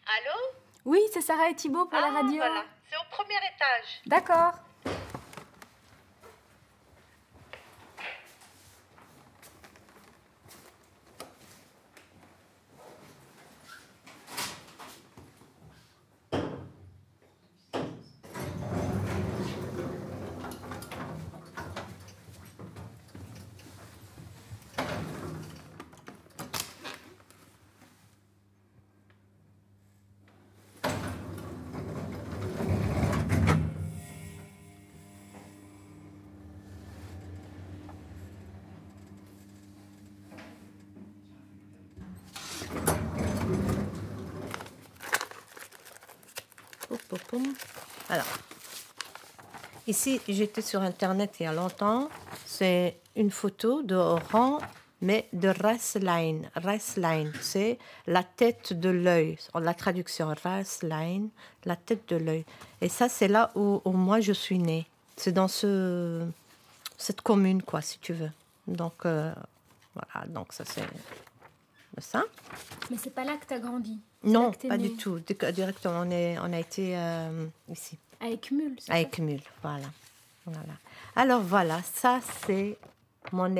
Allô? Oui, c'est Sarah et Thibaut pour la radio. Voilà, c'est au premier étage. D'accord. Alors, ici, j'étais sur Internet il y a longtemps. C'est une photo de Oran, mais de Rasline. Rasline, c'est la tête de l'œil. La traduction, Rasline, la tête de l'œil. Et ça, c'est là où moi, je suis née. C'est dans cette commune, quoi, si tu veux. Donc, voilà, donc ça, c'est ça. Mais c'est pas là que tu as grandi. Non, pas du tout. Directement, on a été ici. À Eckmühl, c'est ça? À Eckmühl, voilà. Alors voilà, ça c'est mon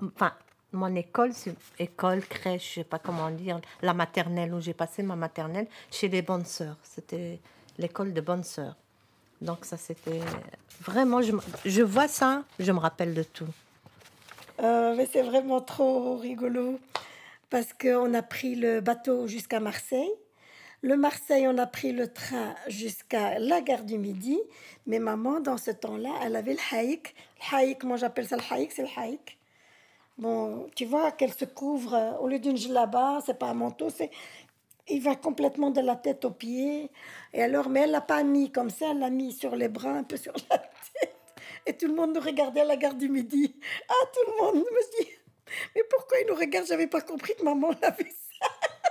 école, école, crèche, je sais pas comment dire, la maternelle où j'ai passé ma maternelle chez les bonnes sœurs. C'était l'école de bonnes sœurs. Donc ça c'était vraiment, je vois ça, je me rappelle de tout. Mais c'est vraiment trop rigolo parce qu'on a pris le bateau jusqu'à Marseille. Le Marseille, on a pris le train jusqu'à la gare du Midi. Mais maman, dans ce temps-là, elle avait le haïk. Le haïk, moi j'appelle ça le haïk, c'est le haïk. Bon, tu vois qu'elle se couvre, au lieu d'une djellaba, c'est pas un manteau, il va complètement de la tête aux pieds. Et alors, mais elle l'a pas mis comme ça, elle l'a mis sur les bras, un peu sur la tête. Et tout le monde nous regardait à la gare du Midi. Ah, tout le monde me dit, mais pourquoi ils nous regardent? J'avais pas compris que maman l'avait ça.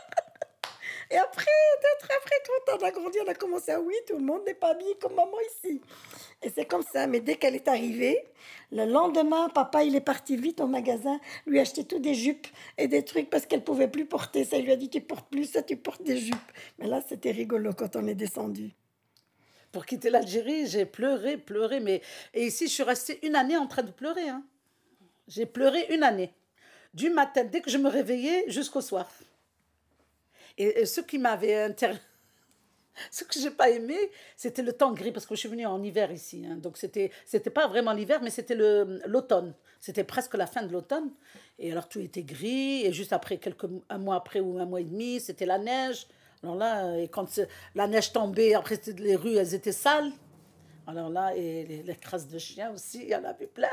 Et après, quand on a grandi, on a commencé à oui, tout le monde n'est pas habillé comme maman ici. Et c'est comme ça. Mais dès qu'elle est arrivée, le lendemain, papa, il est parti vite au magasin, lui acheter tous des jupes et des trucs parce qu'elle pouvait plus porter ça. Il lui a dit, tu portes plus ça, tu portes des jupes. Mais là, c'était rigolo quand on est descendu. Pour quitter l'Algérie, j'ai pleuré, mais... Et ici, je suis restée une année en train de pleurer. Hein. J'ai pleuré une année. Du matin, dès que je me réveillais, jusqu'au soir. Et ce qui m'avait ce que j'ai pas aimé, c'était le temps gris, parce que je suis venue en hiver ici. Hein. Donc, c'était pas vraiment l'hiver, mais c'était l'automne. C'était presque la fin de l'automne. Et alors, tout était gris. Et juste après, un mois après ou un mois et demi, c'était la neige. Alors là, et quand la neige tombait, après, les rues, elles étaient sales. Alors là, et les crasses de chiens aussi, il y en avait plein.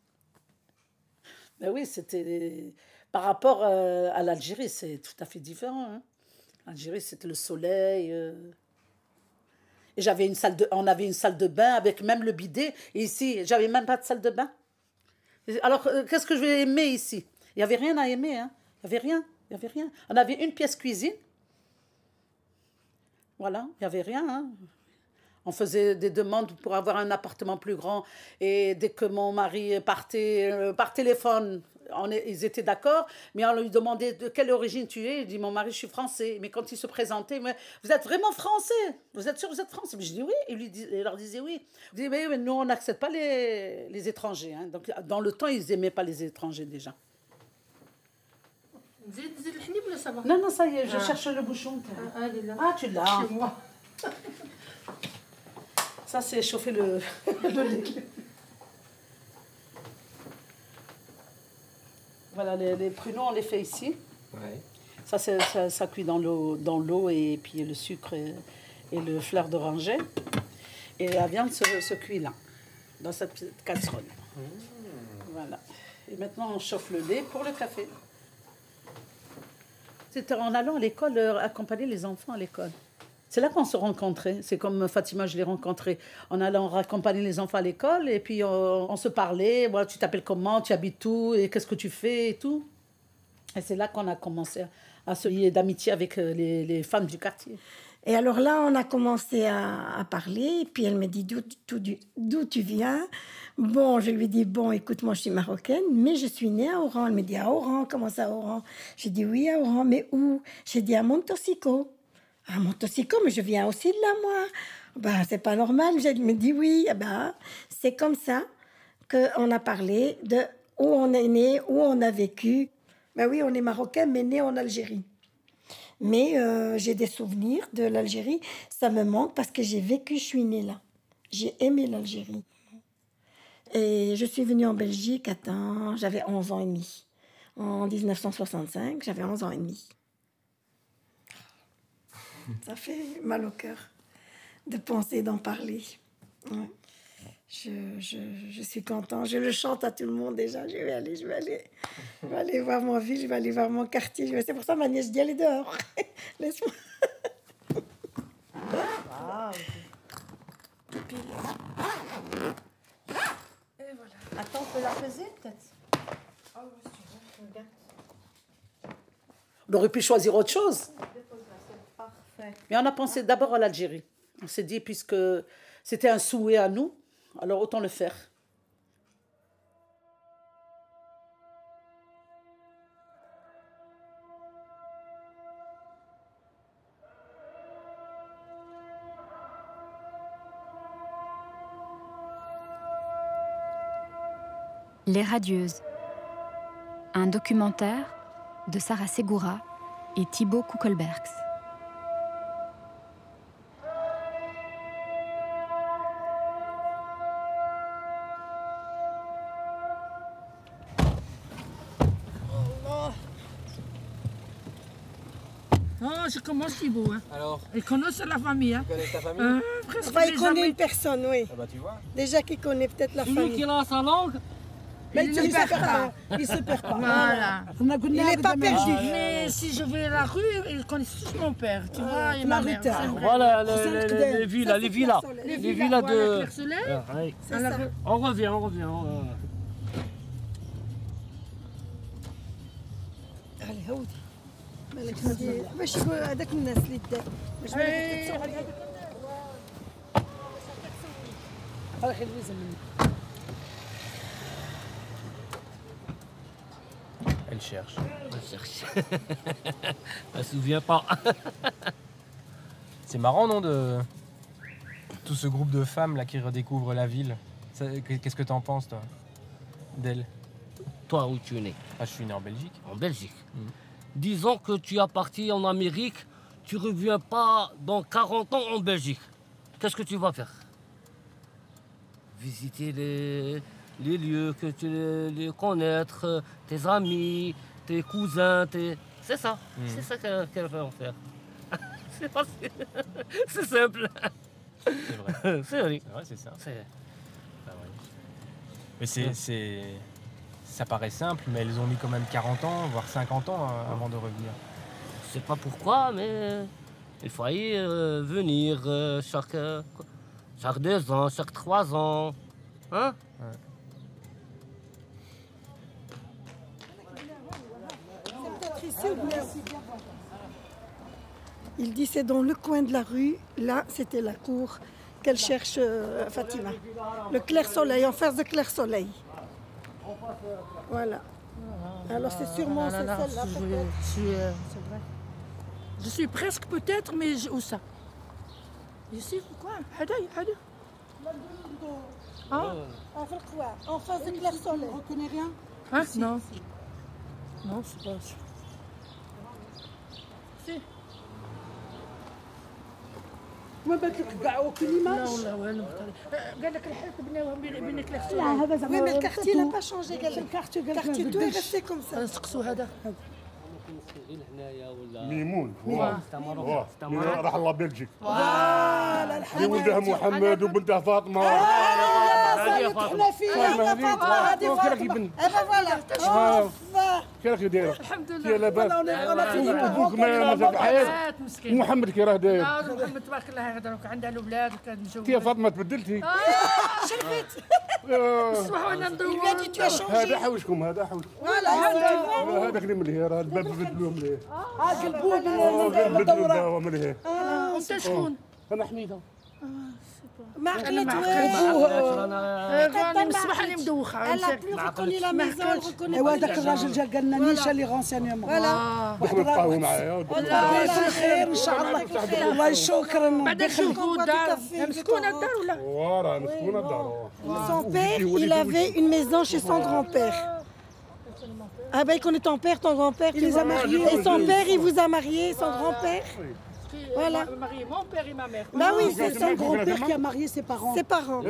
Mais oui, c'était... Par rapport à l'Algérie, c'est tout à fait différent. Hein. L'Algérie, c'était le soleil. Et on avait une salle de bain avec même le bidet. Et ici, j'avais même pas de salle de bain. Alors, qu'est-ce que je vais aimer ici? Il n'y avait rien à aimer. Hein. Il n'y avait rien. On avait une pièce cuisine. Voilà, il n'y avait rien. Hein. On faisait des demandes pour avoir un appartement plus grand. Et dès que mon mari partait par téléphone, ils étaient d'accord. Mais on lui demandait de quelle origine tu es. Il dit, mon mari, je suis français. Mais quand il se présentait, mais, vous êtes vraiment français? Vous êtes sûr que vous êtes français? Mais je dis oui. Il leur disait oui. Il dit, mais nous, on n'accepte pas les étrangers. Hein. Donc, dans le temps, ils n'aimaient pas les étrangers déjà. Non, ça y est, je cherche le bouchon. Ah, tu l'as. Chez moi. Ça, c'est chauffer le lait. Voilà, les pruneaux, on les fait ici. Ouais. Ça cuit dans l'eau et puis le sucre et le fleur d'oranger. Et la viande se cuit là, dans cette petite casserole. Voilà. Et maintenant, on chauffe le lait pour le café. C'était en allant à l'école, accompagner les enfants à l'école. C'est là qu'on se rencontrait. C'est comme Fatima, je l'ai rencontrée en allant accompagner les enfants à l'école. Et puis, on se parlait. Voilà, tu t'appelles comment? Tu habites où? Et qu'est-ce que tu fais? Et tout. Et c'est là qu'on a commencé à se lier d'amitié avec les femmes du quartier. Et alors là, on a commencé à parler. Et puis, elle me dit, d'où tu viens? Bon, je lui dis, bon, écoute, moi, je suis marocaine, mais je suis née à Oran. Elle me dit, à Oran? Comment ça, à Oran? J'ai dit, oui, à Oran. Mais où? J'ai dit, à Montosico. Ah, Montocico, mais je viens aussi de là, moi. Ben, c'est pas normal. Je me dis oui. Eh ben, c'est comme ça qu'on a parlé de où on est né, où on a vécu. Ben oui, on est marocain, mais né en Algérie. Mais j'ai des souvenirs de l'Algérie. Ça me manque parce que j'ai vécu, je suis née là. J'ai aimé l'Algérie. Et je suis venue en Belgique, j'avais 11 ans et demi. En 1965, j'avais 11 ans et demi. Ça fait mal au cœur de penser, d'en parler. Ouais. Je suis contente. Je le chante à tout le monde déjà. Je vais aller voir mon ville, je vais aller voir mon quartier. C'est pour ça que ma nièce dit, allez dehors. Laisse-moi. Wow. Et voilà. Attends, on peut la peser peut-être. Oh, si tu veux, regarde. On aurait pu choisir autre chose. C'est parfait. Mais on a pensé d'abord à l'Algérie. On s'est dit, puisque c'était un souhait à nous, alors autant le faire. Les Radieuses. Un documentaire de Sarah Ségoura et Thibaut Kuckelbergs. Oh, je commence Thibaut. Hein. Alors, Il connaît la famille. Hein. tu connais ta famille Presque Enfin, il les connaît amis. une personne, oui. Ah bah tu vois. Déjà qu'il connaît peut-être la Celui famille. qui a sa langue, Mais il il ne ne perd se perd pas. pas. Il se perd pas. Voilà. Il n'est pas perdu. Mais si je vais à la rue, ils connaissent tous mon père, tu vois, et ma mère. Marita. c'est vrai. voilà C'est les villas, Ça, les c'est villas. Claire-Soleil. Les villas Voilà, de... Claire-Soleil. Ah, ouais. C'est À la ça. rue. On revient. علي هودي مالك هادي باش يقول هذاك الناس اللي دار باش مالك تتصور Elle cherche. Elle se souvient pas. C'est marrant, non, de tout ce groupe de femmes là qui redécouvrent la ville. Qu'est-ce que t'en penses, toi, d'elle? Toi, où tu es né? Ah, je suis né en Belgique. En Belgique. Disons que tu es parti en Amérique, tu reviens pas dans 40 ans en Belgique. Qu'est-ce que tu vas faire? Visiter les lieux, que tu les connaître, tes amis, tes cousins, c'est ça. C'est ça qu'elle veut en faire. C'est facile. C'est simple. C'est vrai. C'est vrai. Ouais, c'est ça. C'est- Ah ouais. Mais ça paraît simple, mais elles ont mis quand même 40 ans, voire 50 ans avant de revenir. Je sais pas pourquoi, mais il fallait venir chaque 2 ans, chaque 3 ans. Hein? Il dit c'est dans le coin de la rue, là c'était la cour qu'elle cherche Fatima. Le clair-soleil, en face de clair-soleil. Voilà. Alors c'est sûrement c'est celle-là peut-être. C'est vrai. Je suis presque peut-être, mais où ça? Ici, quoi? Hadaï. Hein? En face de clair-soleil. On connaît rien. Hein? Non. Non, c'est pas ça. Si. ما بالك كاع aucune image. لا والله والو. قال لك الحيط بناوهم بين كلاكسون. Oui, mais le quartier n'a pas changé. Le quartier, tout est resté comme ça. نسقسوا هذا. ميمون واه. راح الله بلجيك اللي ولدها محمد وبنتها فاطمه هذه فاطمة. هذه فاطمه كيف دايره الحمد يا لله. لاباس ابوك ما بحياة مسكين. ومحمد كي راه داير لا محمد تبارك الله هذا عندها الاولاد وكان مجوز. يا فاطمه تبدلتي الصباح وانا ندور. هذا حوشكم هذا هذاك اللي ملهي راه الباب بدلوه ملهي قلبوه بدلوه ملهي انت شكون؟ انا حميده ما عقلت ما الصباح اللي مدوخه Elle a plus reconnu la maison, elle reconnaît ايوا pas داك الراجل جا قال لنا نيشان لي غونسينيومون دخلوا تقهووا معايا بخير ان شاء الله والله شكرا بعدا نشوفوا الدار مسكونه الدار ولا وراه مسكونه الدار. Son père, il avait une maison chez son grand-père. Ah ben, il connaît ton père, ton grand-père, tu les a vois. mariés. Et son père, il vous a marié, son grand-père. Voilà. marié mon père et ma mère. Bah oui, c'est son son grand-père qui a marié ses parents. ses parents.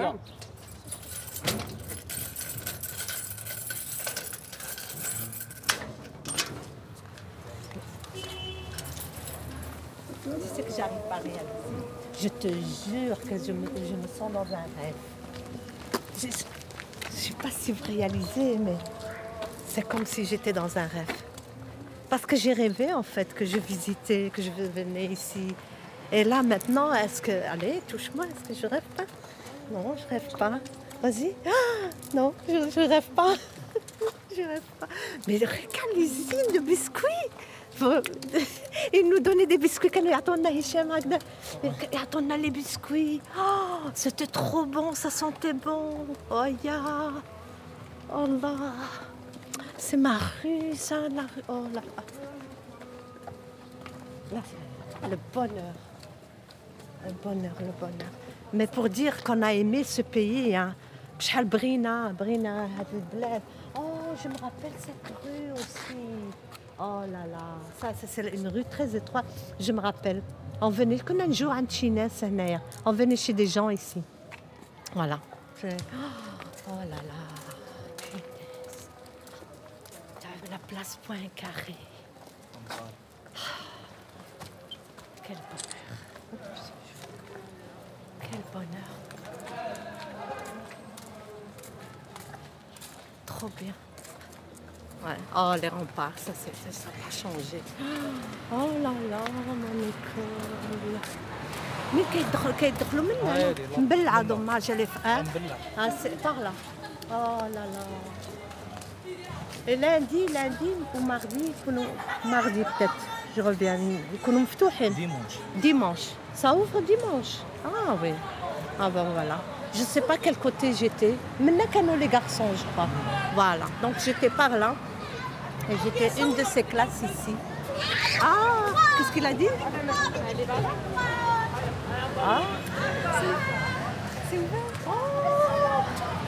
Tu sais que j'arrive pas à réaliser. Je te jure que je me sens dans un rêve. Je ne sais pas si vous réalisez, mais c'est comme si j'étais dans un rêve. Parce que j'ai rêvé en fait que je visitais, que je venais ici. Et là maintenant, est-ce que... Allez, touche-moi, est-ce que je rêve pas? Non, je rêve pas. Vas-y. Ah, non, je rêve pas. Je rêve pas. Mais regarde l'usine de biscuits. Ils nous donnaient des biscuits quand ils attendaient Hicham Agda. Ils attendaient les biscuits. Oh, c'était trop bon, ça sentait bon. Oh ya. Oh là. C'est ma rue, ça, la rue. Oh là. Là, c'est le bonheur. Le bonheur, le bonheur. Mais pour dire qu'on a aimé ce pays, hein. بشحال برينا هاد البلاد. Oh, je me rappelle cette rue aussi. Oh là là, ça c'est une rue très étroite. Je me rappelle. On venait, كنا نجوا عند شي ناس هنايا. On venait chez des gens ici. Voilà. Oh là là. La place Poincaré. Quel bonheur. Quel bonheur. Trop bien. Ouais. Oh, les remparts, ça n'a changé. Oh là là, mon école. Mais كيدخلوا منها مبلعة dommage les frères. Ah, c'est par là. Oh là là. Et lundi ou mardi peut-être, je reviens. يكونوا مفتوحين. Dimanche. Ça ouvre dimanche. Ah oui. Ah ben voilà. Je ne sais pas quel côté j'étais. Maintenant qu'à les garçons, je crois. Voilà. Donc j'étais par là. Et j'étais une de ces classes ici. Ah, qu'est-ce qu'il a dit? Ah, c'est ouvert. Oh,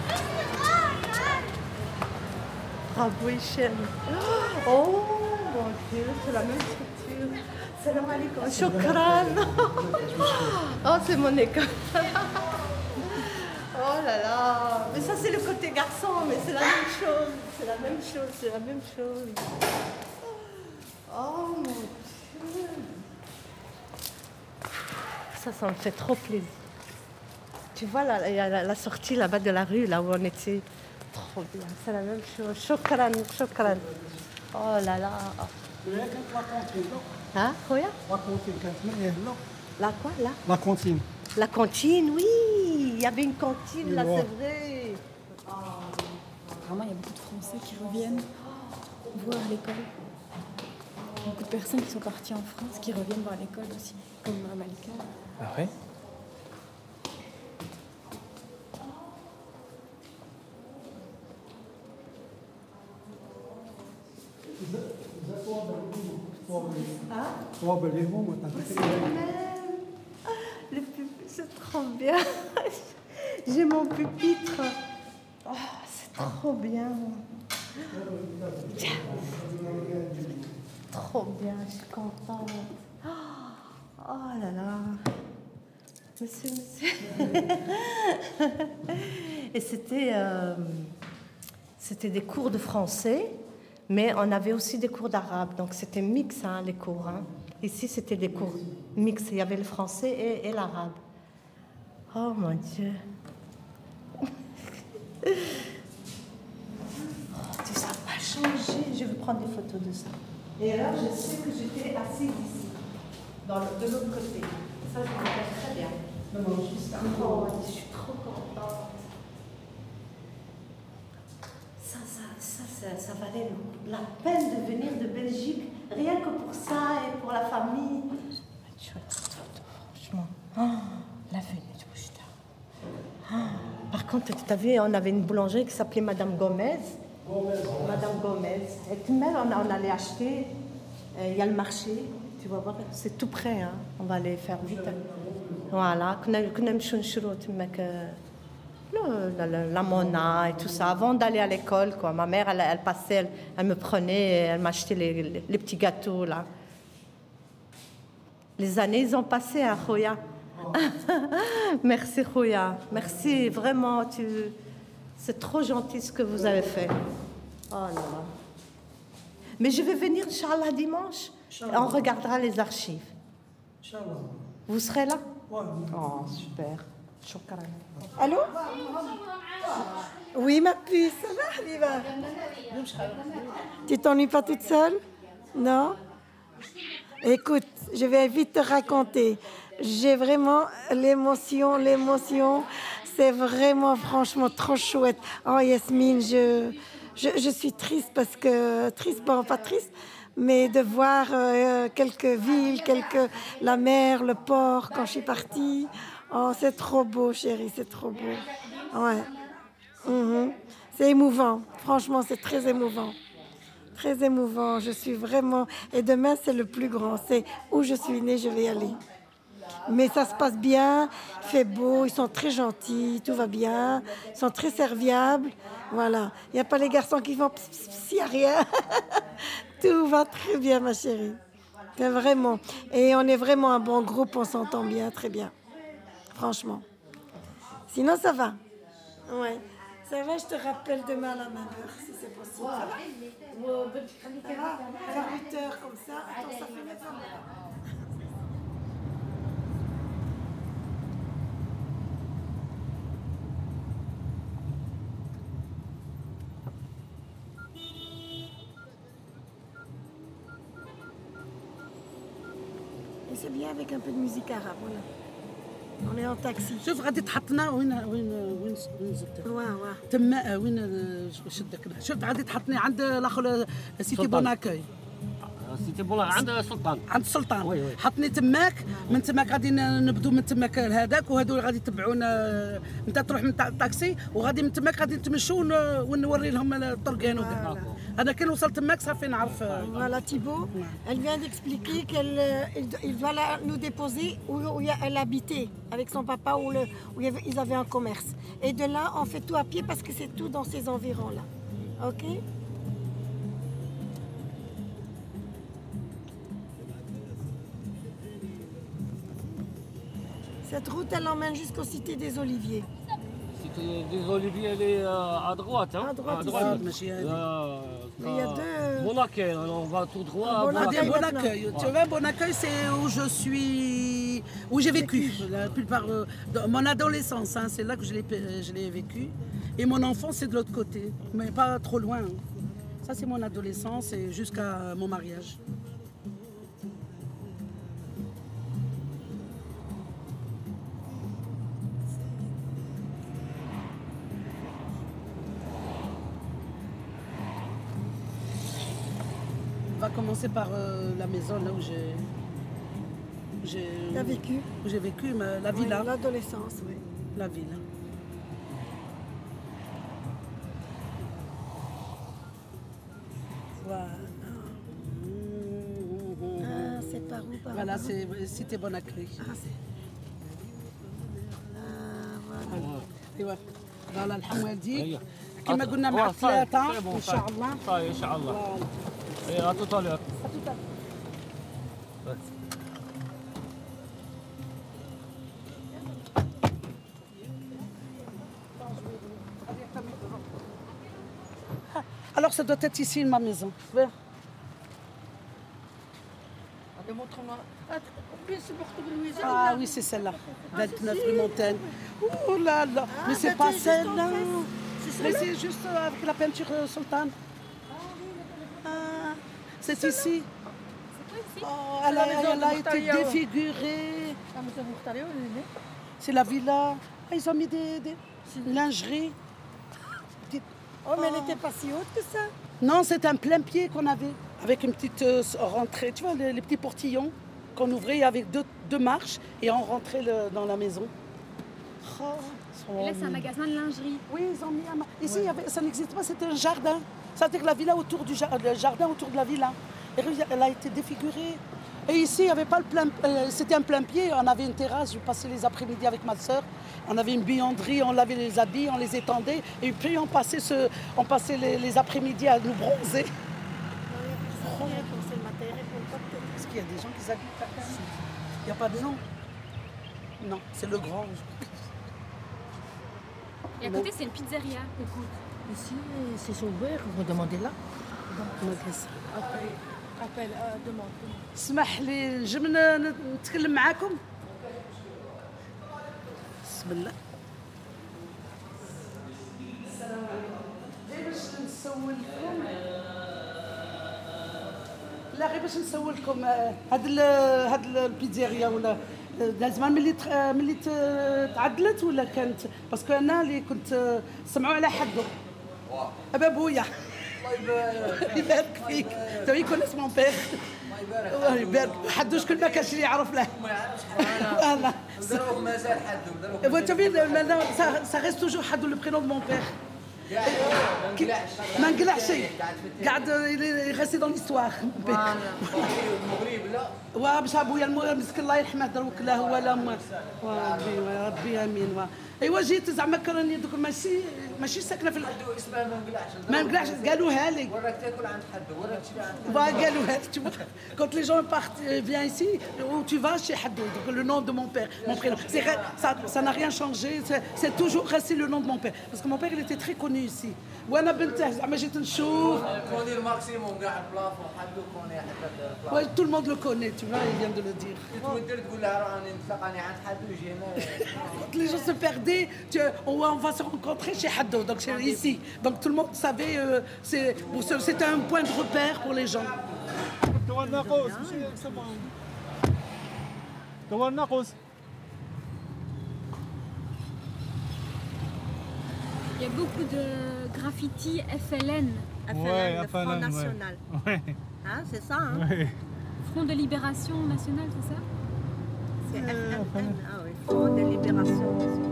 bravo, Hichem. Oh, mon Dieu, c'est la même structure. Salam alaikum. Shukran. Oh, c'est mon école. Oh là là. Mais ça, c'est le côté garçon, mais c'est la même chose. C'est la même chose, c'est la même chose. Oh mon Dieu. Ça me fait trop plaisir. Tu vois, là, il y a la sortie là-bas de la rue, là où on était. Trop bien, c'est la même chose. Shukran, shukran. Oh là là. Hein, quoi? La quoi, là? La cantine. La cantine, oui. Il y avait une cantine, là, c'est vrai. Vraiment, il y a beaucoup de Français qui reviennent voir l'école. Beaucoup de personnes qui sont parties en France qui reviennent voir l'école aussi, comme Malika. Ah ouais? Le pupitre, c'est trop bien. J'ai mon pupitre. Oh, c'est trop bien. Trop bien, je suis contente. Oh là là. Monsieur. Et c'était des cours de français, mais on avait aussi des cours d'arabe. Donc c'était mix, hein, les cours. Hein. Ici, c'était des cours mix. Il y avait le français et l'arabe. Oh mon Dieu. Ça n'a pas changé. Je vais prendre des photos de ça. Et là, je sais que j'étais assise ici, de l'autre côté. Ça, je me rappelle très bien. Oh, je suis trop contente. Ça valait la peine de venir de Belgique, rien que pour ça et pour la famille. Franchement, la venue quand tu as vu, on avait une boulangerie qui s'appelait Madame Gomez. Madame Gomez. Et tout même, on allait acheter. Il y a le marché. Tu vas voir, c'est tout près. Hein. On va aller faire vite. Voilà. La Mona et tout ça. Avant d'aller à l'école, quoi. Ma mère, elle passait, elle me prenait, elle m'achetait les petits gâteaux, là. Les années, ils ont passé à Khoya. Merci, Khoya. Merci, vraiment. C'est trop gentil ce que vous avez fait. Oh là là. Mais je vais venir, Inch'Allah, dimanche. On regardera les archives. Vous serez là? Oh, super. Shukran. Allô? Oui, ma puce. Ça va, Habiba? Tu t'ennuies pas toute seule? Non? Écoute, je vais vite te raconter. J'ai vraiment l'émotion. C'est vraiment, franchement, trop chouette. Oh, Yasmine, je suis triste parce que... Triste, bon, pas triste, mais de voir quelques villes, la mer, le port, quand je suis partie. Oh, c'est trop beau, chérie, c'est trop beau. Ouais. C'est émouvant. Franchement, c'est très émouvant. Très émouvant. Je suis vraiment... Et demain, c'est le plus grand. C'est où je suis née, je vais y aller. Mais ça se passe bien, il fait beau, ils sont très gentils, tout va bien, ils sont très serviables. Voilà. Il n'y a pas les garçons qui font s'il n'y a rien. Tout va très bien, ma chérie. C'est vraiment. Et on est vraiment un bon groupe, on s'entend bien, très bien. Franchement. Sinon, ça va. Ouais. Ça va, je te rappelle demain à la même heure, si c'est possible. Ça va? À 8 heures comme ça. Attends, ça fait 9 heures. Et c'est bien avec un peu de musique arabe, voilà. On est en taxi. شوف غادي تحطنا وين زدت واه تما وين شدك شوف غادي تحطني عند الاخر سيتي بوناكوي سيتي بولا عند السلطان. عند السلطان. وي وي. حطني تماك، من تماك غادي نبدو من تماك لهذاك، وهذو غادي يتبعونا. انت تروح من الطاكسي وغادي من تماك غادي نتمشوا ونوري لهم الطرقان وكاع. انا كي نوصل تماك صافي نعرف. Voilà, Thibaut, elle vient d'expliquer qu'il doit nous déposer où elle habitait avec son papa, où ils avaient un commerce. Et de là, on fait tout à pied parce que c'est tout dans ces environs-là. Ok? Cette route, elle emmène jusqu'aux cités des Oliviers. Cité des Oliviers, elle est à droite. Hein? À droite, ici. Il y a deux... Bon accueil, on va tout droit. Bon accueil. Bon accueil. Tu vois, bon accueil, c'est où je suis, où j'ai vécu. La plupart, mon adolescence, hein, c'est là que je l'ai vécu. Et mon enfance, c'est de l'autre côté, mais pas trop loin. Hein. Ça, c'est mon adolescence et jusqu'à mon mariage. On va commencer par la maison là où j'ai vécu. Où j'ai vécu, la villa. Oui, l'adolescence, oui. La villa. Voilà. Ah, c'est par où, par Voilà, où? c'est Cité Bon Accueil. Voilà. ايوا فوالا الحوادي كما قلنا مع الثلاثه ان شاء الله. صاي ان شاء الله. اي à tout à l'heure. Alors ça doit être ici ma maison. Ah oui, c'est celle-là. 29 rue Montaigne. Oh là là. Mais c'est pas celle-là. Mais c'est juste avec la peinture sultane. Ah, c'est ici. Oh, elle a été défigurée. C'est la villa. Ah, ils ont mis des lingeries. Oh, mais elle n'était pas si haute que ça. Non, c'est un plein pied qu'on avait. Avec une petite rentrée. Tu vois, les petits portillons qu'on ouvrait avec deux marches et on rentrait dans la maison. Et là, c'est un magasin de lingerie. Oui, ils ont mis ici, ça n'existe pas, c'était un jardin. C'est-à-dire la villa autour du le jardin autour de la villa. Et elle a été défigurée. Et ici, il y avait pas le plein, c'était un plein pied. On avait une terrasse. Je passais les après-midi avec ma soeur. On avait une buanderie, on lavait les habits, on les étendait. Et puis on passait les après-midi à nous bronzer. Est-ce qu'il y a des gens qui habitent là? Il n'y a pas de nom? Non, c'est le grand. Et à côté, c'est une pizzeria. Écoute, ici, c'est ouvert, vous demandez là. Appelle, demande. اسمح لي نجي نتكلم معاكم بسم الله غير باش نسولكم لا غير باش نسولكم هاد البيتزيريا ولا زمان ملي تعدلت ولا كانت باسكو انا اللي كنت سمعوا على حدو ابا بويا الله يبارك فيك تو يكون اسمه بير الله يبارك حدو شكون ما كانش اللي يعرف له ما يعرفش فوالا دروك مازال حدو دروك ça reste toujours حدو le prénom de mon père ما نقلعش قاعد يغسي dans l'histoire المغرب لا وباش ابويا المسكين الله يرحمه دروك لا هو لا ربي امين ايوا جيت زعما كراني دوك ماشي ساكنه في حدو اسمها ما نقلعش قالوها لي وراك تاكل عند حدو وراك تشري عند حدو قالوها لي quand les gens viennent ici où tu vas chez Haddo donc le nom de mon père mon prénom ça n'a rien changé c'est toujours resté le nom de mon père parce que mon père il était très connu ici وانا بنته زعما جيت نشوف كوني الماكسيموم كاع البلافون حدو كوني حتى ouais tout le monde le connaît tu vois il vient de le dire تودر تقول لها راني نتلاقاني عند حدو جينا quand les gens se perdaient on va se rencontrer chez Haddo donc c'est ici donc tout le monde savait c'était un point de repère pour les gens Il y a beaucoup de graffiti FLN. Ouais, le Front National. Ouais. Hein, c'est ça, hein? Ouais. Front de Libération Nationale, c'est ça? C'est FLN. Ah oui, Front de Libération Nationale.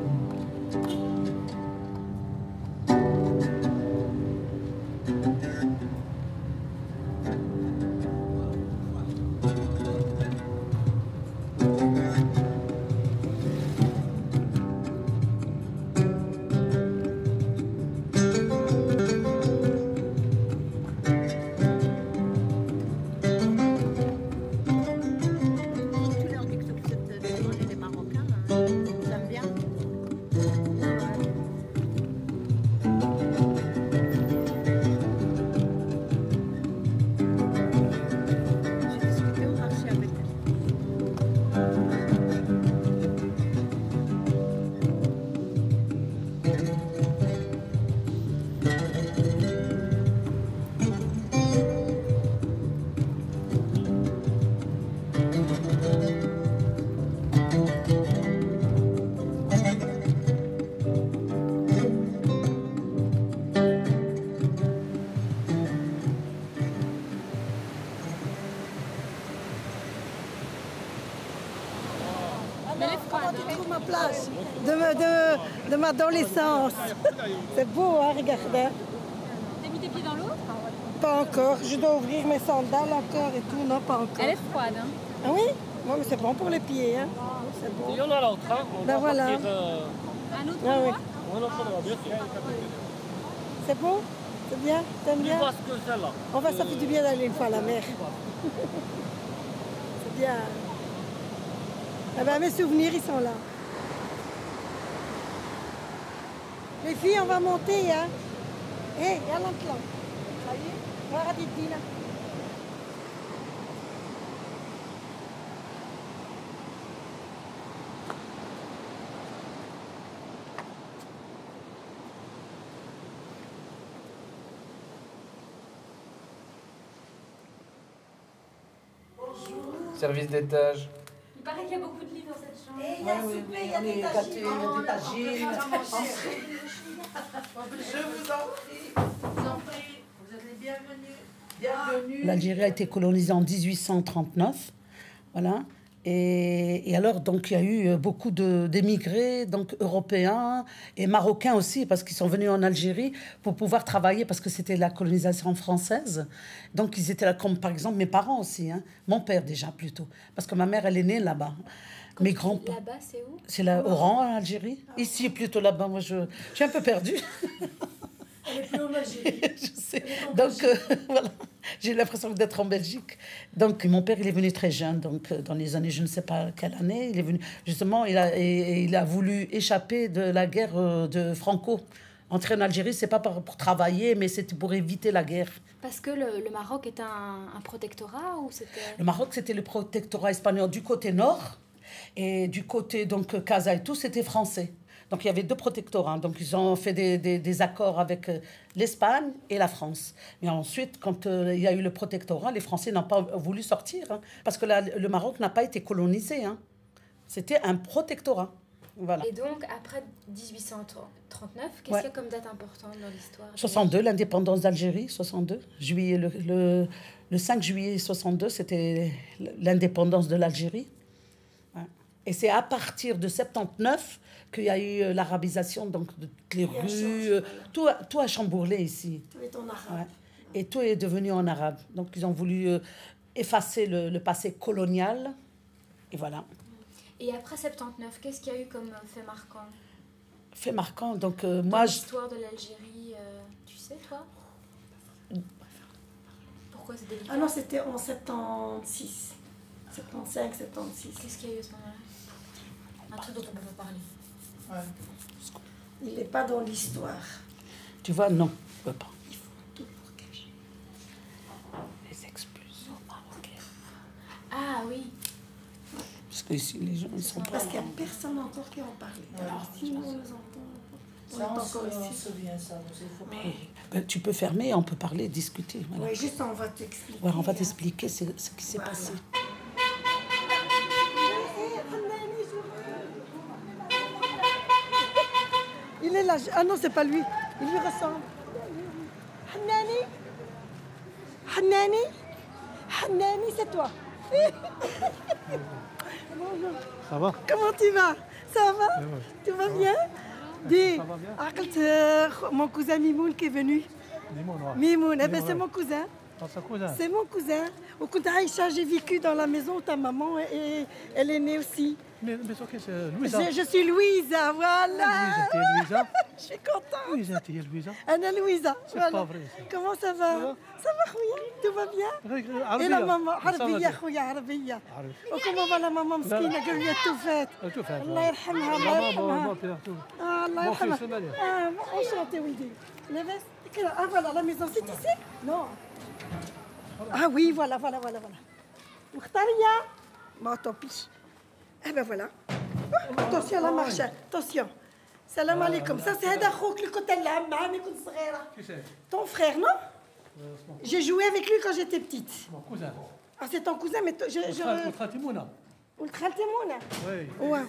De ma adolescence. C'est beau, hein, regardez. T'as mis tes pieds dans l'eau? Pas encore. Je dois ouvrir mes sandales encore et tout. Non, pas encore. Elle est froide, hein? Ah oui? Oui, mais c'est bon pour les pieds, hein. C'est bon. Il y en a l'autre, hein? Ben voilà. Un autre oui. bien sûr. C'est bon? C'est bien? T'aimes bien? Parce que celle-là. Enfin, ça fait du bien d'aller une fois à la mer. C'est bien. Eh ben, mes souvenirs, ils sont là. Les filles, on va monter, hein. Hé, y'a l'enclan. Ça y est? Voilà, Dina. Service d'étage. Il paraît qu'il y a beaucoup de lits dans cette chambre. Et il y a souper, il y a des tagines. Je vous en prie. Vous êtes les bienvenus. Bienvenue. L'Algérie a été colonisée en 1839. Voilà. Et alors, donc, il y a eu beaucoup d'émigrés, donc européens et marocains aussi, parce qu'ils sont venus en Algérie pour pouvoir travailler, parce que c'était la colonisation française. Donc, ils étaient là, comme par exemple mes parents aussi, hein. Mon père déjà plutôt, parce que ma mère, elle est née là-bas. Mes grands-parents. Là-bas, c'est où? C'est là, Oran, en Algérie. Ici, plutôt là-bas. Moi, je suis un peu perdue. Elle est plus en Algérie. Je sais. Donc, voilà. J'ai l'impression d'être en Belgique. Donc, mon père, il est venu très jeune, donc dans les années, je ne sais pas quelle année, il est venu. Justement, il a voulu échapper de la guerre de Franco. Entrer en Algérie, c'est pas pour travailler, mais c'était pour éviter la guerre. Parce que le Maroc était un protectorat ou c'était... Le Maroc, c'était le protectorat espagnol du côté nord, et du côté, donc, Casa et tout, c'était français. Donc, il y avait deux protectorats. Donc, ils ont fait des accords avec l'Espagne et la France. Mais ensuite, quand il y a eu le protectorat, les Français n'ont pas voulu sortir. Hein, parce que le Maroc n'a pas été colonisé. Hein. C'était un protectorat. Voilà. Et donc, après 1839, qu'est-ce qu'il y a comme date importante dans l'histoire? 62, l'indépendance d'Algérie, 62. Juillet, le 5 juillet 62, c'était l'indépendance de l'Algérie. Ouais. Et c'est à partir de 79 qu'il y a eu l'arabisation, donc de toutes les rues, tout a chamboulé ici. Tout est en arabe. Ouais. Et tout est devenu en arabe. Donc ils ont voulu effacer le passé colonial. Et voilà. Et après 79, qu'est-ce qu'il y a eu comme fait marquant? Fait marquant, donc moi... L'histoire de l'Algérie, tu sais, toi? Pourquoi c'est délicat? Ah non, c'était en 76. 75, 76. Qu'est-ce qu'il y a eu à ce moment-là? Un truc dont on peut pas parler. Ouais. Il n'est pas dans l'histoire. Tu vois, non, on peut pas. Il faut tout pour cacher. Les expulsions marocaines. Ah oui. Parce que ici, les gens, ils sont pas... Parce qu'il n'y a personne encore qui en parle. Alors, si nous nous entendons, on est encore ici. Mais, tu peux fermer, on peut parler, discuter. Voilà. Oui, juste on va t'expliquer. Ouais, on va t'expliquer ce qui s'est passé. Il est là. Ah non, c'est pas lui. Il lui ressemble. Hanani. Hanani. Hanani, c'est toi. Bonjour. Ça va? Comment tu vas? Ça va? Tout va bien? Dis, ça va bien? mon cousin Mimoun qui est venu. Mimoun, eh ben c'est mon cousin. C'est mon cousin. Au Aïcha, j'ai vécu dans la maison où ta maman et elle est née aussi. Mais c'est Louisa. Je suis Louisa, voilà. Louisa. Je suis contente. Louisa, tu es Louisa. Anna Louisa. C'est voilà. pas vrai. Ça. Comment ça va? Ça va, Khouya? Tout va bien? Et la maman? Arabia, Khouya, Arabia. Comment va la maman مسكينة قالوا لي توفات. الله يرحمها الله يرحمها. الله يرحمها. Enchanté, Wildy. Ah voilà, la maison, c'est ici? Non. Ah oui, voilà. Mokhtaria. Bon, tant pis. Eh ben voilà. Attention à la marche. Attention. Salam alaikum. Ça, c'est هذا أخوك اللي كنت نلعب معاه ملي كنت صغيرة. Ton frère, non? J'ai joué avec lui quand j'étais petite. Mon cousin. Ah, c'est ton cousin, mais je... ولد خالتي منى. Oui. Ouais.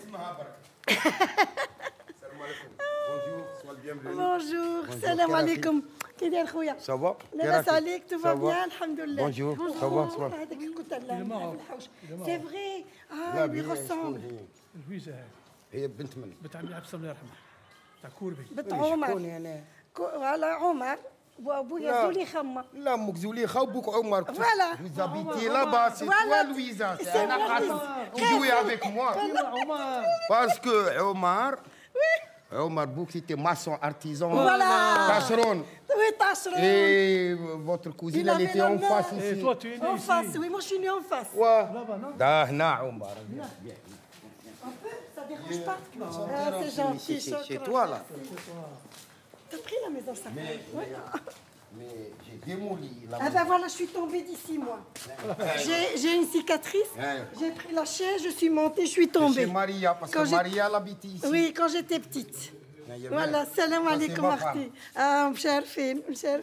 Bonjour. Salam alaikum. كي داير خويا؟ Ça va? لاباس عليك؟ tout va bien الحمد لله. Bonjour. Ça va? هذاك اللي كنت نلعب في الحوش. C'est vrai. Ah, لا il lui ressemble. لويزا هي بنت من؟ بنت عمي عبد الله يرحمه. تاع كوربي. بنت عمر. شكون انا؟ voilà عمر. وابويا زليخه. لا امك زليخه وبوك عمر. Voilà. Vous habitez là-bas, c'est toi Louisa. C'est un Hassan qui jouait avec moi. Parce que Omar. Omar Bouk, c'était maçon, artisan. Voilà. Tâcheron. Oui, tâcheron. Et votre cousine, elle était en face ici. Et toi, tu es né En ici. face, oui, moi je suis née en face. Ouais. Là-bas, non? Dahna, Omar. Un peu, ça dérange pas? Ah, c'est gentil. C'est chez toi, là. T'as pris la maison, ça? Mais j'ai démoli la Ah ben voilà, je suis tombée d'ici, moi. J'ai une cicatrice, j'ai pris la chaise, je suis montée, je suis tombée. C'est Maria, parce que Maria l'habite ici. Oui, quand j'étais petite. Voilà, salam alaikum akhti. Ah, msharfin.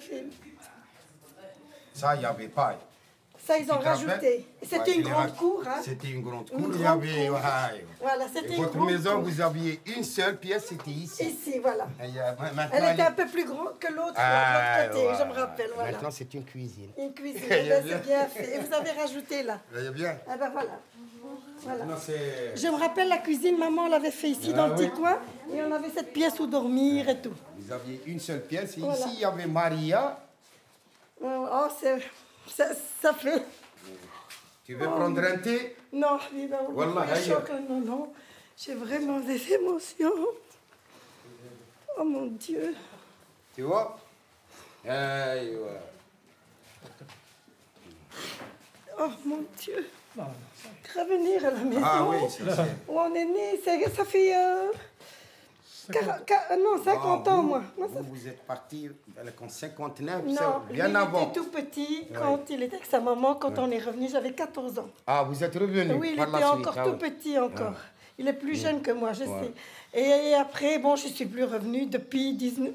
Ça, il n'y avait pas. Ça, ils ont rajouté. C'était une grande cour. Hein. C'était une grande cour. Il y avait... Voilà, c'était une votre grande maison, cour. vous aviez une seule pièce, c'était ici. Ici, voilà. Elle était un peu plus grande que l'autre, de l'autre côté, je me rappelle. Voilà. Maintenant, c'est une cuisine. Une cuisine, c'est bien fait. Et vous avez rajouté là. Il y a bien. Ah ben voilà. Voilà. Non, c'est- Je me rappelle la cuisine, maman l'avait fait ici dans le petit coin. Et on avait cette pièce où dormir et tout. Vous aviez une seule pièce. Et Voilà. ici, il y avait Maria. Oh, ça fait... Tu veux prendre un thé? Non, Wallah, aïe. non, non. J'ai vraiment des émotions. Oh mon Dieu. Tu vois? Aïe, Oh mon Dieu. Revenir à la maison. Ah oui, c'est ça. Où on est né, ça fait... 50 ans, moi. Vous êtes parti en 59, Non, c'est bien lui, avant. il était tout petit quand il était avec sa maman. Quand on est revenu, j'avais 14 ans. Ah, vous êtes revenu Oui, il par était la suite. encore Ah tout oui. petit encore. Ah. Il est plus jeune que moi, je Ouais. sais. Et après, bon, je suis plus revenue depuis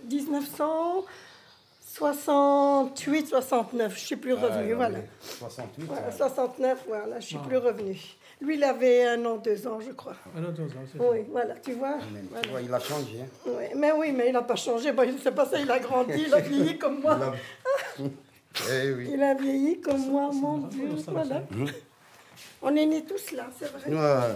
1968, 69. Je suis plus revenue, Ah, voilà. oui. 68. Voilà, ouais. 69, voilà, je suis Ah. plus revenue. Lui, il avait 1 an, 2 ans, je crois. Un autre, c'est ça. Oui, voilà, tu vois. Mais tu Voilà. vois, il a changé. Hein. Oui, mais il n'a pas changé. Bon, c'est pas ça, il a grandi, il a vieilli comme moi. Eh oui. Il a vieilli comme moi, mon Dieu. Voilà. Mmh. On est nés tous là, c'est vrai. Ouais.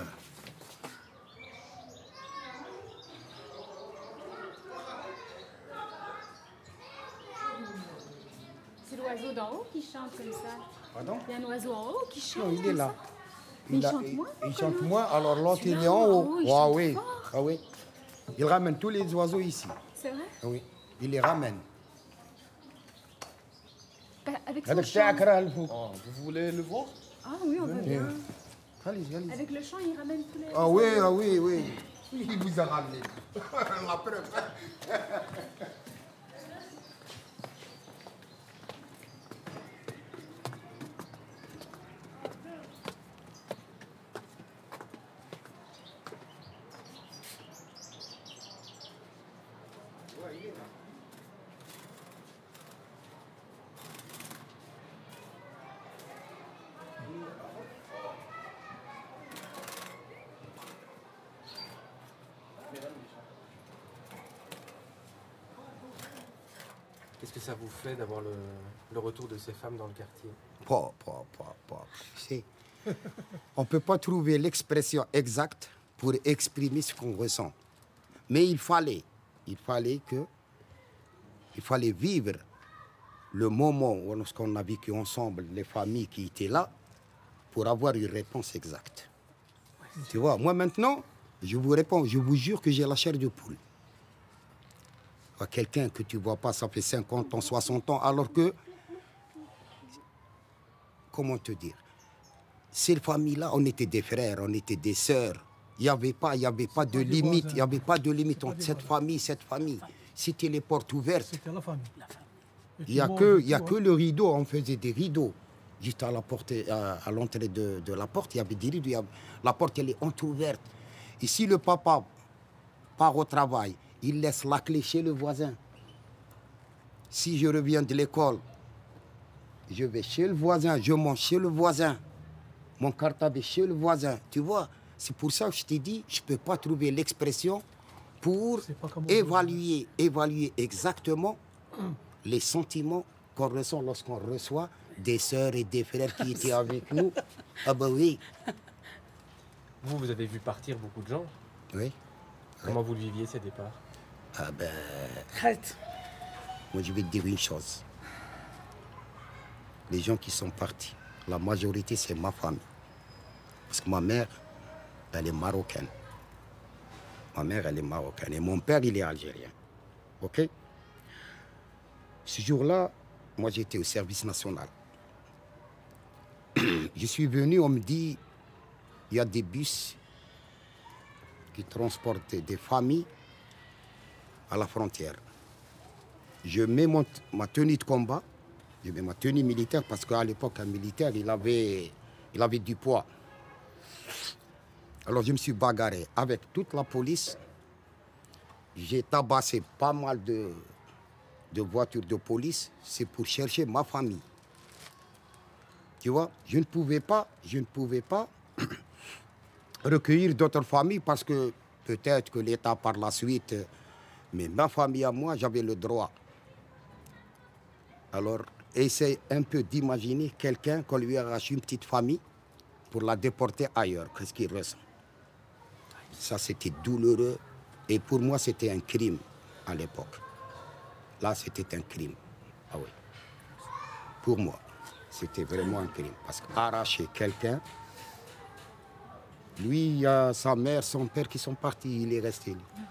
C'est l'oiseau d'en haut qui chante comme ça. Pardon? Il y a un oiseau en haut qui chante. Non, il est comme là. ça. Mais il a- chante moins, Il comment? chante moins, alors l'autre il est en haut. il Ah chante oui. fort. Ah oui. Il ramène tous les oiseaux ici. C'est vrai? Ah oui. Il les ramène. Avec son Avec chant. Chakra, Vous voulez le voir? Ah oui, on veut bien. Allez-y, allez-y. Avec le chant, il ramène tous les... Ah oui, ah oui, oui. Il vous a ramené. La preuve. Qu'est-ce que ça vous fait d'avoir le retour de ces femmes dans le quartier? Tu sais, on ne peut pas trouver l'expression exacte pour exprimer ce qu'on ressent. Mais il fallait vivre le moment où lorsqu'on a vécu ensemble, les familles qui étaient là, pour avoir une réponse exacte. Tu vois, moi maintenant, je vous réponds, je vous jure que j'ai la chair de poule. Quelqu'un que tu ne vois pas, ça fait 50 ans, 60 ans, alors que, comment te dire, ces familles-là, on était des frères, on était des sœurs. Il n'y avait pas de limite, il n'y avait pas de limite entre cette famille. C'était les portes ouvertes. C'était la famille. Il n'y a que le rideau, on faisait des rideaux. Juste à la porte, à l'entrée de la porte, il y avait des rideaux. La porte, elle est entrouverte. Et si le papa part au travail, il laisse la clé chez le voisin. Si je reviens de l'école, je vais chez le voisin, je mange chez le voisin. Mon cartable est chez le voisin. Tu vois, c'est pour ça que je t'ai dit, je ne peux pas trouver l'expression pour évaluer exactement les sentiments qu'on ressent lorsqu'on reçoit des sœurs et des frères qui étaient avec nous. Ah ben oui. Vous avez vu partir beaucoup de gens. Oui. Comment vous le viviez, ces départs? Ah ben... Arrête. Moi, je vais te dire une chose. Les gens qui sont partis, la majorité, c'est ma famille. Parce que ma mère, elle est marocaine. Ma mère, elle est marocaine. Et mon père, il est algérien. OK? Ce jour-là, moi, j'étais au service national. Je suis venu, on me dit, il y a des bus qui transportent des familles à la frontière. Je mets ma tenue de combat, je mets ma tenue militaire parce qu'à l'époque, un militaire, il avait du poids. Alors je me suis bagarré avec toute la police. J'ai tabassé pas mal de voitures de police. C'est pour chercher ma famille. Tu vois, je ne pouvais pas recueillir d'autres familles parce que peut-être que l'État par la suite, mais ma famille à moi, j'avais le droit. Alors, essaye un peu d'imaginer quelqu'un qu'on lui arrache une petite famille pour la déporter ailleurs. Qu'est-ce qu'il ressent? Ça, c'était douloureux. Et pour moi, c'était un crime à l'époque. Là, c'était un crime. Ah oui. Pour moi, c'était vraiment un crime. Parce qu'arracher quelqu'un, lui, il y a sa mère, son père qui sont partis, il est resté.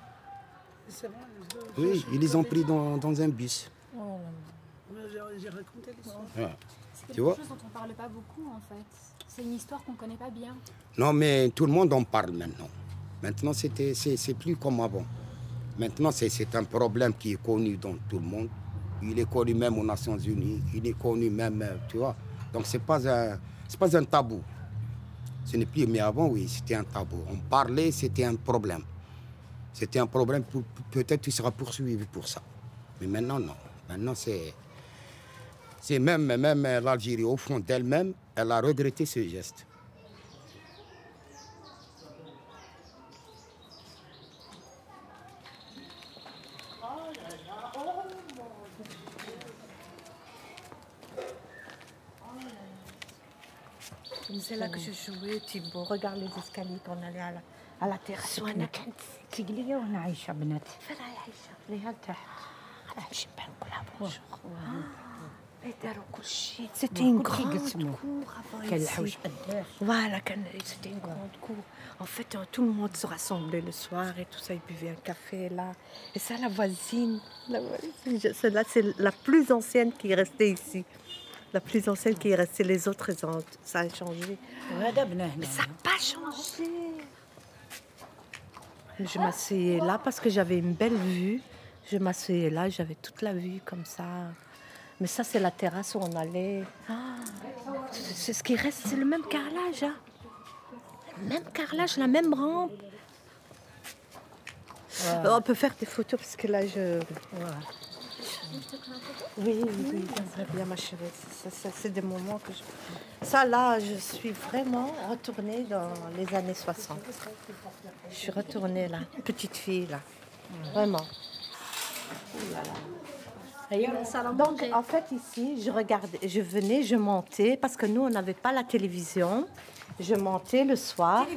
Oui, ils les ont pris dans un bus. J'ai raconté l'histoire. Ouais. C'est Tu vois? quelque chose dont on ne parle pas beaucoup en fait. C'est une histoire qu'on ne connaît pas bien. Non, mais tout le monde en parle maintenant. Maintenant, c'est plus comme avant. Maintenant, c'est un problème qui est connu dans tout le monde. Il est connu même aux Nations Unies. Il est connu même, tu vois. Donc, c'est pas un tabou. Ce n'est plus, mais avant, oui, c'était un tabou. On parlait, c'était un problème. C'était un problème, peut-être tu seras poursuivi pour ça. Mais maintenant, non. Maintenant, c'est même l'Algérie, au fond d'elle-même, elle a regretté ce geste. C'est là que je jouais, Thibaut. Regarde les escaliers qu'on allait à la terrasse. وانا كنت تقلي وانا عايشه بناتي فين عايشه ليها لتحت نمشي نبان نقولها بونجور داروا كل شيء سيتي اون غراند كور الحوش قداش voilà c'était une grande cour en fait tout le monde se rassemblait le soir et tout ça ils buvaient un café là et ça la voisine celle-là c'est la plus ancienne qui est restée ici. La plus ancienne qui est restée, les autres, ça a changé. Mais ça n'a pas changé. Je m'asseyais là parce que j'avais une belle vue. Je m'asseyais là, j'avais toute la vue comme ça. Mais ça, c'est la terrasse où on allait. Ah, c'est ce qui reste, c'est le même carrelage. Hein. Le même carrelage, la même rampe. Ouais. On peut faire des photos parce que là, je... Ouais. Oui, bien ma chérie. Ça, c'est des moments que je... Ça, là, je suis vraiment retournée dans les années 60. Je suis retournée là, petite fille là. Vraiment. Donc, en fait, ici, je venais, je montais, parce que nous, on n'avait pas la télévision. Je montais le soir.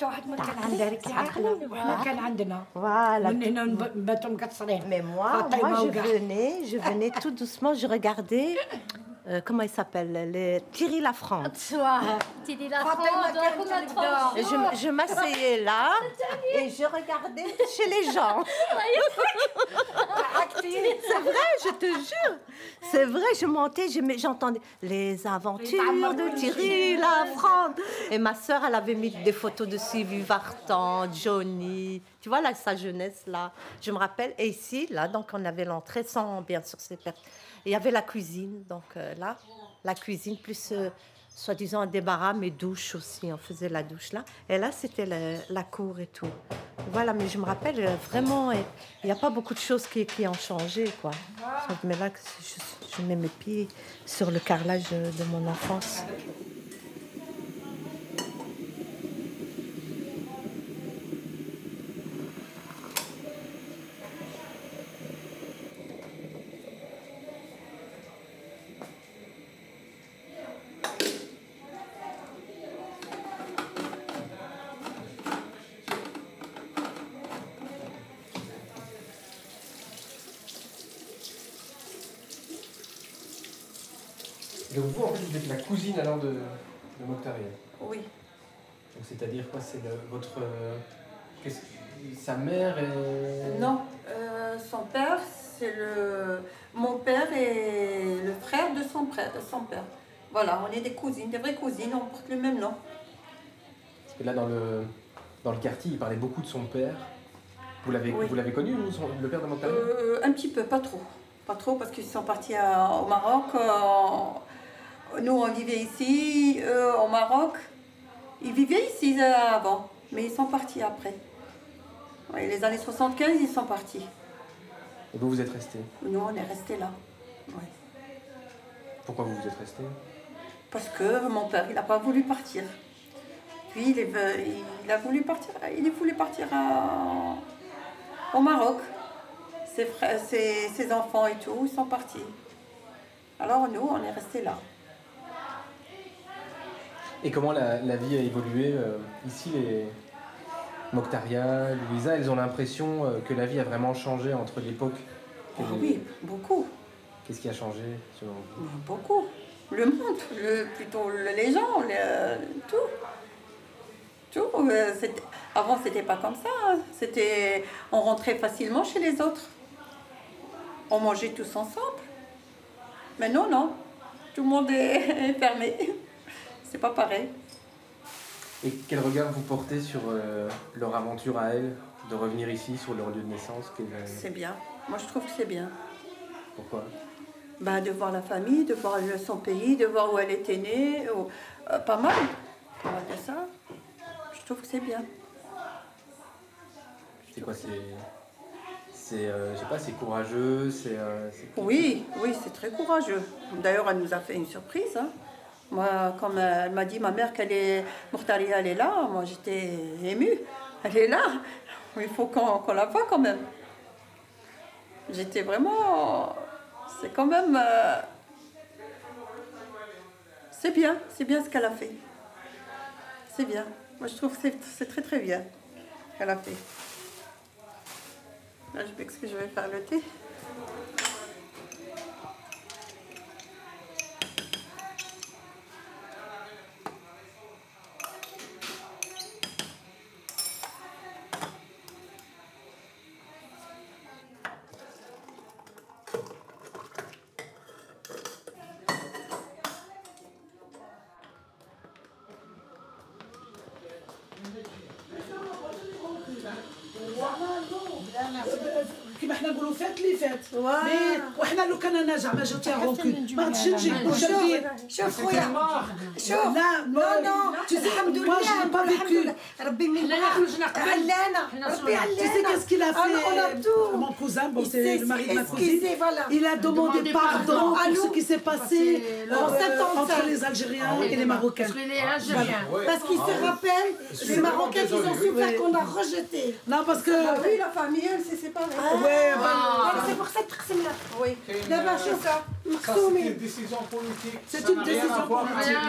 Voilà. Mais moi, je venais tout doucement, je regardais, comment il s'appelle, Thierry Lafrance. Thierry Lafrance, je m'asseyais là et je regardais chez les gens. C'est vrai, je te jure. C'est vrai, je montais, j'entendais les aventures de Thierry Lafrance. Et ma sœur, elle avait mis des photos de Sylvie Vartan, Johnny. Tu vois, là, sa jeunesse, là. Je me rappelle. Et ici, là, donc, on avait l'entrée sans, bien sûr, ces personnes. Il y avait la cuisine, donc là, la cuisine, plus, soi-disant, un débarras, mais douche aussi. On faisait la douche là. Et là, c'était la cour et tout. Voilà, mais je me rappelle, vraiment, il n'y a pas beaucoup de choses qui ont changé, quoi. Mais là, je mets mes pieds sur le carrelage de mon enfance. Donc vous, en fait, vous êtes la cousine alors de Mokhtar. Oui. Donc c'est-à-dire quoi? C'est sa mère est... Non, son père, c'est mon père et le frère de son père. Voilà, on est des cousines, des vraies cousines, on porte le même nom. Parce que là, dans le quartier, il parlait beaucoup de son père. Vous l'avez connu, le père de Mokhtar? Un petit peu, pas trop. Pas trop, parce qu'ils sont partis au Maroc. Nous, on vivait ici, au Maroc. Ils vivaient ici avant, mais ils sont partis après. Ouais, les années 75, ils sont partis. Et vous, vous êtes restés? Nous, on est restés là. Ouais. Pourquoi vous êtes restés? Parce que mon père, il n'a pas voulu partir. Puis, il a voulu partir, au Maroc. Ses frères, ses enfants et tout, ils sont partis. Alors nous, on est restés là. Et comment la vie a évolué ici, les Mokhtaria, Louisa, elles ont l'impression que la vie a vraiment changé entre l'époque. Oui, beaucoup. Qu'est-ce qui a changé selon vous? Beaucoup. Le monde, plutôt les gens, tout. Tout. Avant, c'était pas comme ça. Hein. On rentrait facilement chez les autres. On mangeait tous ensemble. Mais non. Tout le monde est fermé. C'est pas pareil. Et quel regard vous portez sur leur aventure à elles, de revenir ici sur leur lieu de naissance? C'est bien. Moi, je trouve que c'est bien. Pourquoi? De voir la famille, de voir son pays, de voir où elle était née. Pas mal. On va dire ça. Je trouve que c'est bien. C'est quoi? Je sais pas, c'est courageux, Oui, c'est très courageux. D'ailleurs, elle nous a fait une surprise. Hein. Moi, comme elle m'a dit, ma mère, Mokhtaria, elle est là, moi j'étais émue. Elle est là. Il faut qu'on la voie quand même. J'étais vraiment... C'est quand même... C'est bien ce qu'elle a fait. C'est bien. Moi, je trouve que c'est très très bien ce qu'elle a fait. Là, je m'excuse, je vais faire le thé. كيما حنا نقولوا فات لي فات وحنا لو كان نرجع ما جاتي غونكول ما غاديش نجي شوف خويا شوف لا الحمد لله با فيكو ربي من علانا ربي علانا Tu sais qu'est-ce qu'il a fait mon cousin, bon c'est le mari de ma cousine, il a demandé pardon pour ce qui s'est passé entre les Algériens et les Marocains. Parce qu'ils se rappellent, les Marocains qui ont souffert qu'on a rejeté. Non parce que... Oui, la famille, elle s'est séparée. C'est pour cette personne-là. Oui. D'abord, c'est ça. C'est une décision politique. C'est une décision politique.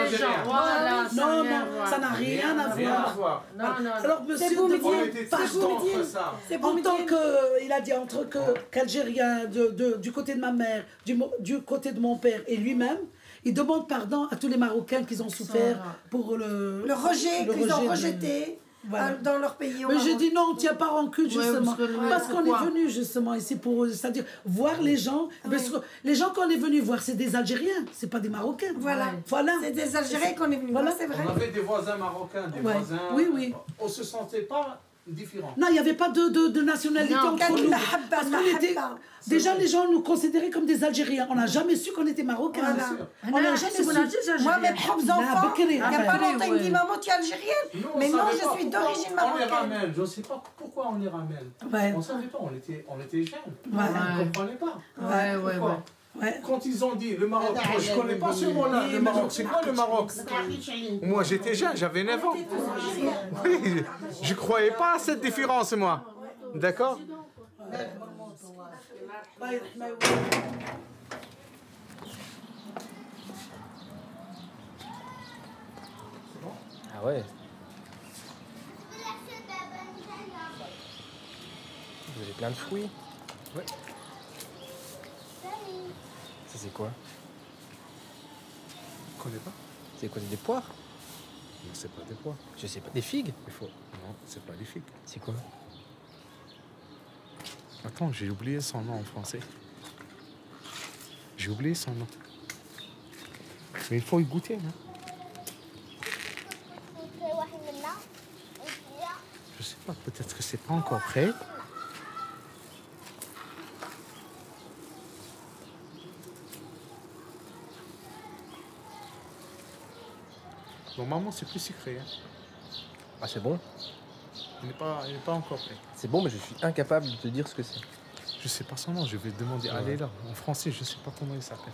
Non, ça n'a rien à voir. Alors monsieur demande pardon. En tant que, il a dit entre qu'Algérien du côté de ma mère, du côté de mon père et lui-même, il demande pardon à tous les Marocains qui ont souffert pour le rejet, qu'ils ont rejeté. Voilà. Dans leur pays. Mais j'ai dit non, on ne tient pas rancune justement. Parce qu'on est venu justement ici pour, c'est-à-dire voir les gens. Les gens qu'on est venu voir, c'est des Algériens, c'est pas des Marocains. Voilà. C'est des Algériens qu'on est venu voir, c'est vrai. On avait des voisins marocains, des voisins. Oui. On se sentait pas différents. Non, il n'y avait pas de nationalité entre nous. Parce qu'on était... Déjà, les gens nous considéraient comme des Algériens. On n'a jamais su qu'on était Marocains. On n'a jamais su. Moi, mes propres enfants, il n'y a pas longtemps, ils me disent maman, tu es algérienne. Mais non, je suis d'origine marocaine. On les ramène. Je ne sais pas pourquoi on les ramène. On ne savait pas, on était jeunes. On ne comprenait pas. Quand ils ont dit le Maroc, moi, je ne connais pas ce mot-là. Le Maroc, c'est quoi le Maroc? Moi, j'étais jeune, j'avais 9 ans. Oui, je ne croyais pas à cette différence, moi. D'accord? Ah ouais. Vous avez plein de fruits. Ouais. Ça c'est quoi? Je connais pas. C'est quoi? C'est des poires? Non, c'est pas des poires. Je sais pas. Des figues? Non, c'est pas des figues. C'est quoi? Attends, j'ai oublié son nom en français. J'ai oublié son nom. Mais il faut y goûter, hein. Je sais pas, peut-être que c'est pas encore prêt. Normalement, c'est plus sucré. Hein. Ah, c'est bon? Il n'est pas encore prêt. C'est bon, mais je suis incapable de te dire ce que c'est. Je sais pas son nom, je vais demander à Léla. En français, je sais pas comment il s'appelle.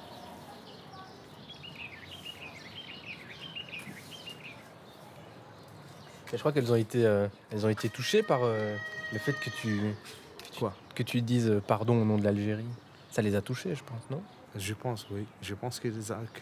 Je crois qu'elles ont été touchées par le fait que tu dises pardon au nom de l'Algérie. Ça les a touchées, je pense, non? Je pense, oui. Je pense que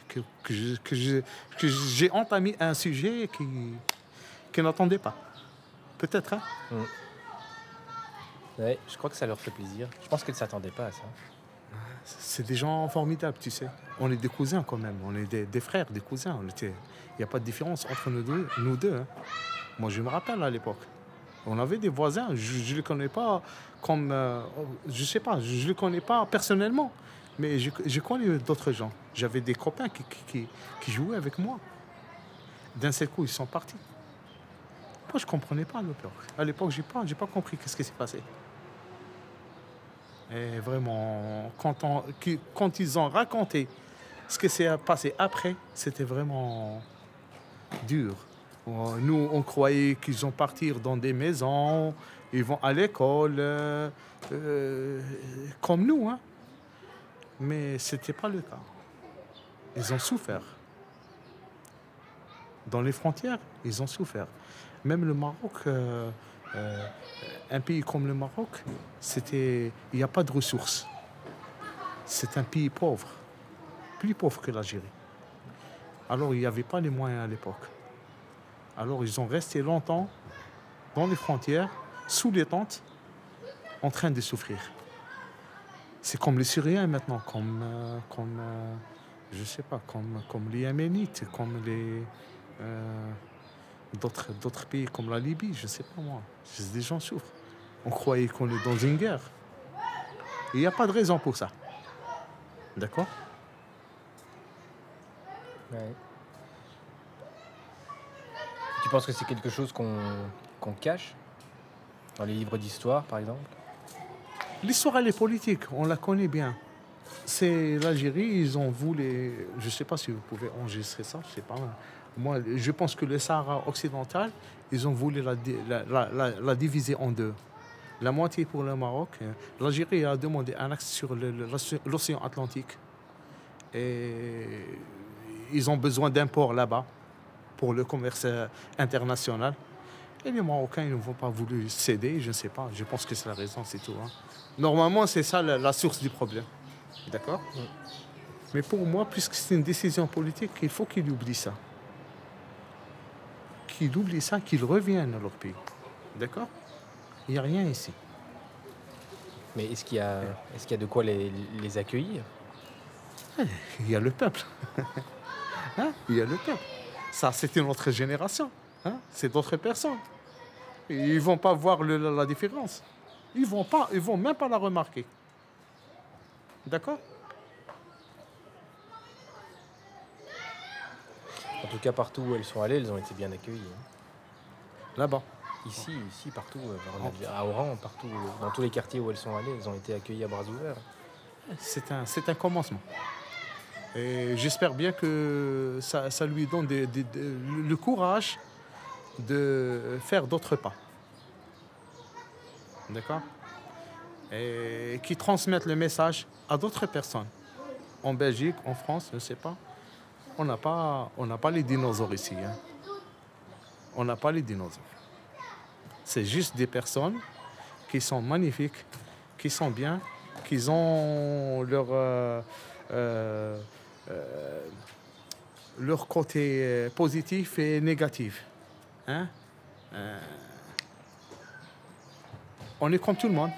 j'ai entamé un sujet qui n'attendait pas. Peut-être, hein? Ouais, je crois que ça leur fait plaisir. Je pense qu'elles ne s'attendaient pas à ça. C'est des gens formidables, tu sais. On est des cousins quand même. On est des frères, des cousins. Il n'y a pas de différence entre nous deux. Hein. Moi, je me rappelle à l'époque. On avait des voisins. Je ne les connais pas comme... je sais pas, je ne les connais pas personnellement. Mais je connais d'autres gens. J'avais des copains qui jouaient avec moi. D'un seul coup, ils sont partis. Moi, je ne comprenais pas à l'époque. À l'époque, je n'ai pas compris qu'est-ce qui s'est passé. Et vraiment, quand ils ont raconté ce qui s'est passé après, c'était vraiment dur. Nous, on croyait qu'ils vont partir dans des maisons, ils vont à l'école, comme nous, hein. Mais ce n'était pas le cas. Ils ont souffert. Dans les frontières, ils ont souffert. Même le Maroc, un pays comme le Maroc, il n'y a pas de ressources. C'est un pays pauvre, plus pauvre que l'Algérie. Alors, il n'y avait pas les moyens à l'époque. Alors, ils ont resté longtemps dans les frontières, sous les tentes, en train de souffrir. C'est comme les Syriens maintenant, je sais pas, comme les Yéménites, comme les d'autres pays comme la Libye, je sais pas moi. Des gens souffrent. On croyait qu'on est dans une guerre. Il n'y a pas de raison pour ça. D'accord? Ouais. Tu penses que c'est quelque chose qu'on cache dans les livres d'histoire, par exemple? L'histoire, elle est politique, on la connaît bien. C'est l'Algérie, ils ont voulu... Je ne sais pas si vous pouvez enregistrer ça, je sais pas. Moi, je pense que le Sahara occidental, ils ont voulu la diviser en deux. La moitié pour le Maroc. L'Algérie a demandé un axe sur l'océan Atlantique. Et ils ont besoin d'un port là-bas pour le commerce international. Et les Marocains, ils ne vont pas voulu céder, je ne sais pas. Je pense que c'est la raison, c'est tout. Hein. Normalement, c'est ça la source du problème. D'accord? Mais pour moi, puisque c'est une décision politique, il faut qu'ils oublient ça. Qu'ils oublient ça, qu'ils reviennent à leur pays. D'accord? Il n'y a rien ici. Mais est-ce qu'il y a de quoi les accueillir? Il y a le peuple. Hein? Il y a le peuple. Ça, c'est une autre génération. Hein? C'est d'autres personnes. Ils ne vont pas voir la différence. Ils vont même pas la remarquer. D'accord? En tout cas, partout où elles sont allées, elles ont été bien accueillies. Là-bas? Ici, partout. À Oran, partout, dans tous les quartiers où elles sont allées, elles ont été accueillies à bras ouverts. C'est un commencement. Et j'espère bien que ça lui donne le courage de faire d'autres pas. D'accord? Et qui transmettent le message à d'autres personnes. En Belgique, en France, je ne sais pas. On n'a pas les dinosaures ici. Hein. On n'a pas les dinosaures. C'est juste des personnes qui sont magnifiques, qui sont bien, qui ont leur côté positif et négatif. Hein? On est comme tout le monde.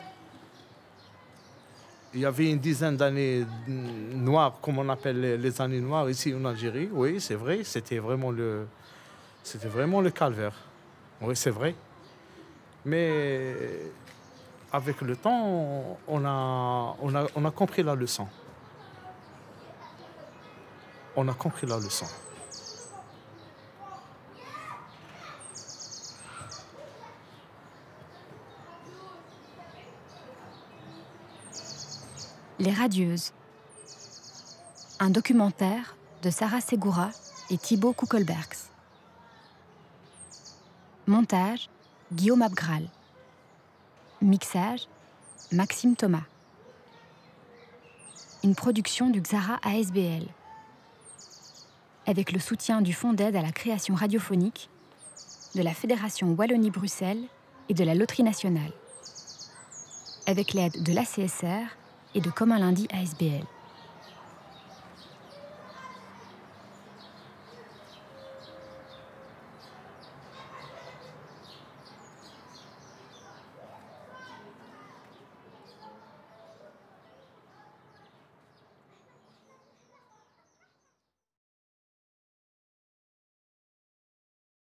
Il y avait une dizaine d'années noires, comme on appelle les années noires ici en Algérie. Oui, c'est vrai, c'était vraiment le calvaire. Oui, c'est vrai. Mais avec le temps, on a compris la leçon. On a compris la leçon. Les Radieuses. Un documentaire de Sarah Segura et Thibaut Kuckelbergs. Montage, Guillaume Abgral. Mixage, Maxime Thomas. Une production du Xara ASBL. Avec le soutien du Fonds d'aide à la création radiophonique, de la Fédération Wallonie-Bruxelles et de la Loterie nationale. Avec l'aide de l'ACSR et de Comme un lundi ASBL.